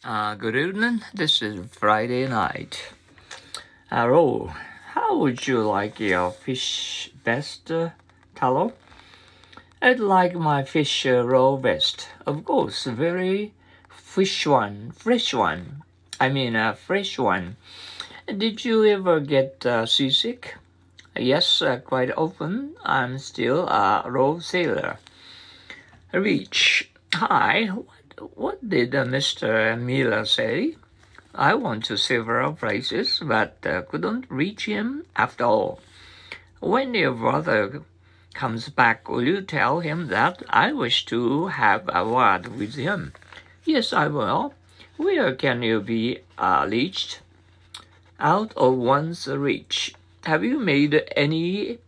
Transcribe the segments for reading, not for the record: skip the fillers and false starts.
Good evening. This is Friday night. Hello. How would you like your fish best, Talo? I'd like my fish roll best. Of course, very fresh one. I mean, a fresh one. Did you ever get seasick? Yes, quite often. I'm still a raw sailor. Reach. Hi. What did Mr. Miller say? I went to several places, but couldn't reach him after all. When your brother comes back, will you tell him that I wish to have a word with him? Yes, I will. Where can you be reached? Out of one's reach. Have you made any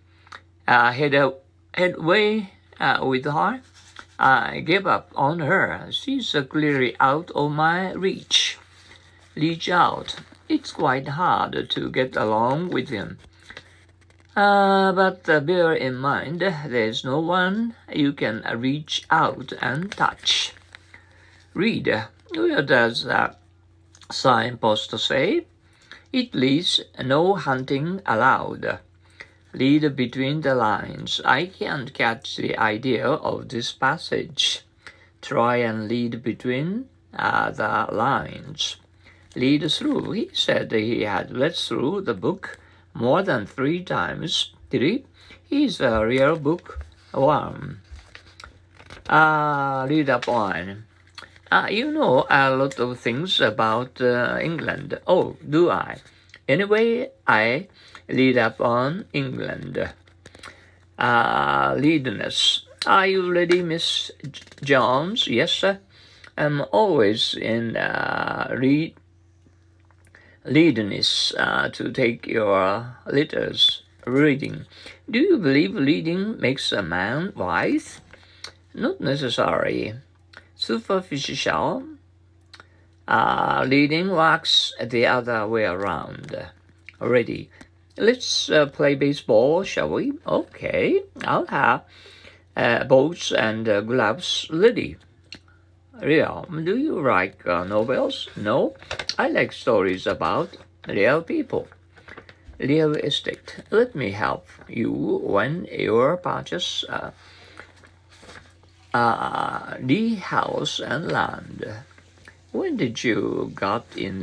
headway with her? I gave up on her. She's clearly out of my reach. Reach out. It's quite hard to get along with him. But bear in mind, there's no one you can reach out and touch. Read. Where does the signpost say? It reads, no hunting allowed. Read between the lines. I can't catch the idea of this passage. Try and read between the lines. Read through. He said he had read through the book more than 3 times. Did he? He's a real bookworm. Read up on. You know a lot of things about England. Oh, do I? Anyway, I read up on England. Readiness. Are you ready, Miss Jones? Yes, sir. I'm always in readiness to take your letters. Reading. Do you believe reading makes a man wise? Not necessary. Superficial. Reading works the other way around. Ready. Let's play baseball, shall we? Okay. I'll have balls and gloves ready. Real. Do you like novels? No. I like stories about real people. Real estate. Let me help you when you purchase the house and land. When did you get in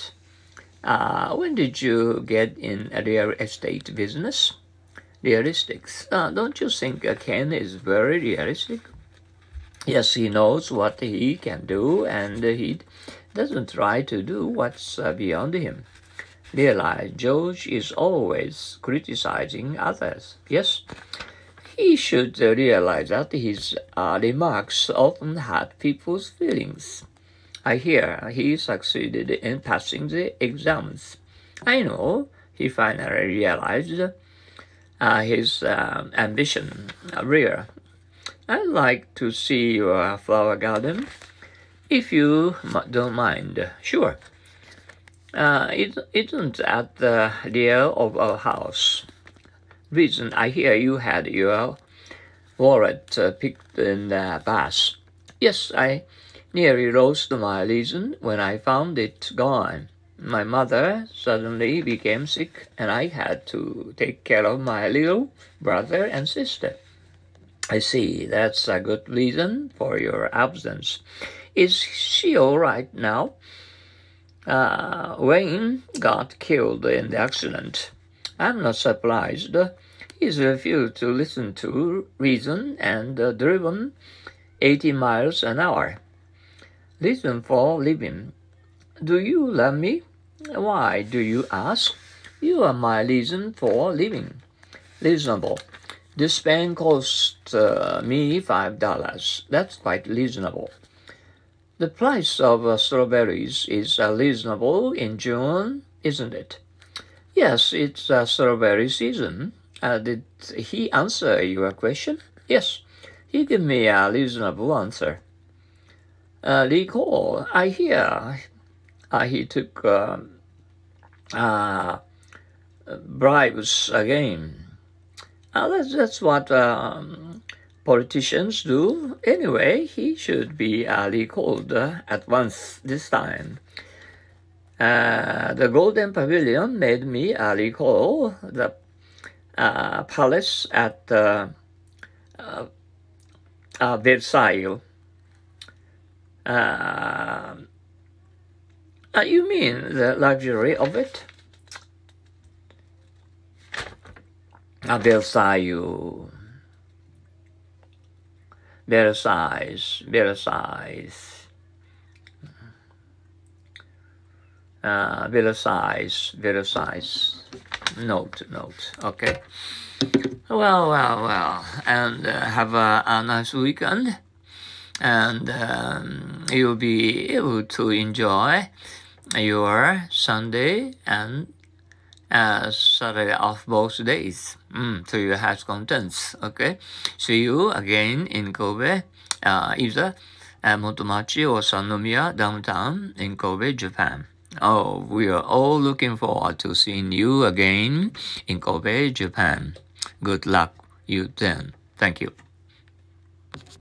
a real estate business? Realistic. Don't you think Ken is very realistic? Yes, he knows what he can do, and he doesn't try to do what's beyond him. Realize George is always criticizing others. Yes, he should realize that his remarks often hurt people's feelings. I hear he succeeded in passing the exams. I know he finally realized his ambition real. I'd like to see your flower garden, if you don't mind. Sure. It isn't at the rear of our house. Reason I hear you had your wallet picked in the bath. Yes, I nearly lost my reason when I found it gone. My mother suddenly became sick, and I had to take care of my little brother and sister. I see, that's a good reason for your absence. Is she all right now? Wayne got killed in the accident. I'm not surprised. He's refused to listen to reason and driven 80 miles an hour. Reason for living. Do you love me? Why do you ask? You are my reason for living. Reasonable. This pen cost me $5. That's quite reasonable. The price of strawberries is reasonable in June, isn't it? Yes, it's strawberry season. Did he answer your question? Yes, he gave me a reasonable answer. Recall, I hear he took bribes again. That's what politicians do. Anyway, he should be recalled at once this time. The Golden Pavilion made me recall the palace at Versailles. You mean the luxury of it? Versailles. Versailles. Note. Okay. Well. And have a nice weekend. And you'll be able to enjoy your Sunday and Saturday off both days to your heart's contents. Okay. See you again in Kobe, either Motomachi or Sannomiya downtown in Kobe, Japan. Oh, we are all looking forward to seeing you again in Kobe, Japan. Good luck you then. Thank you.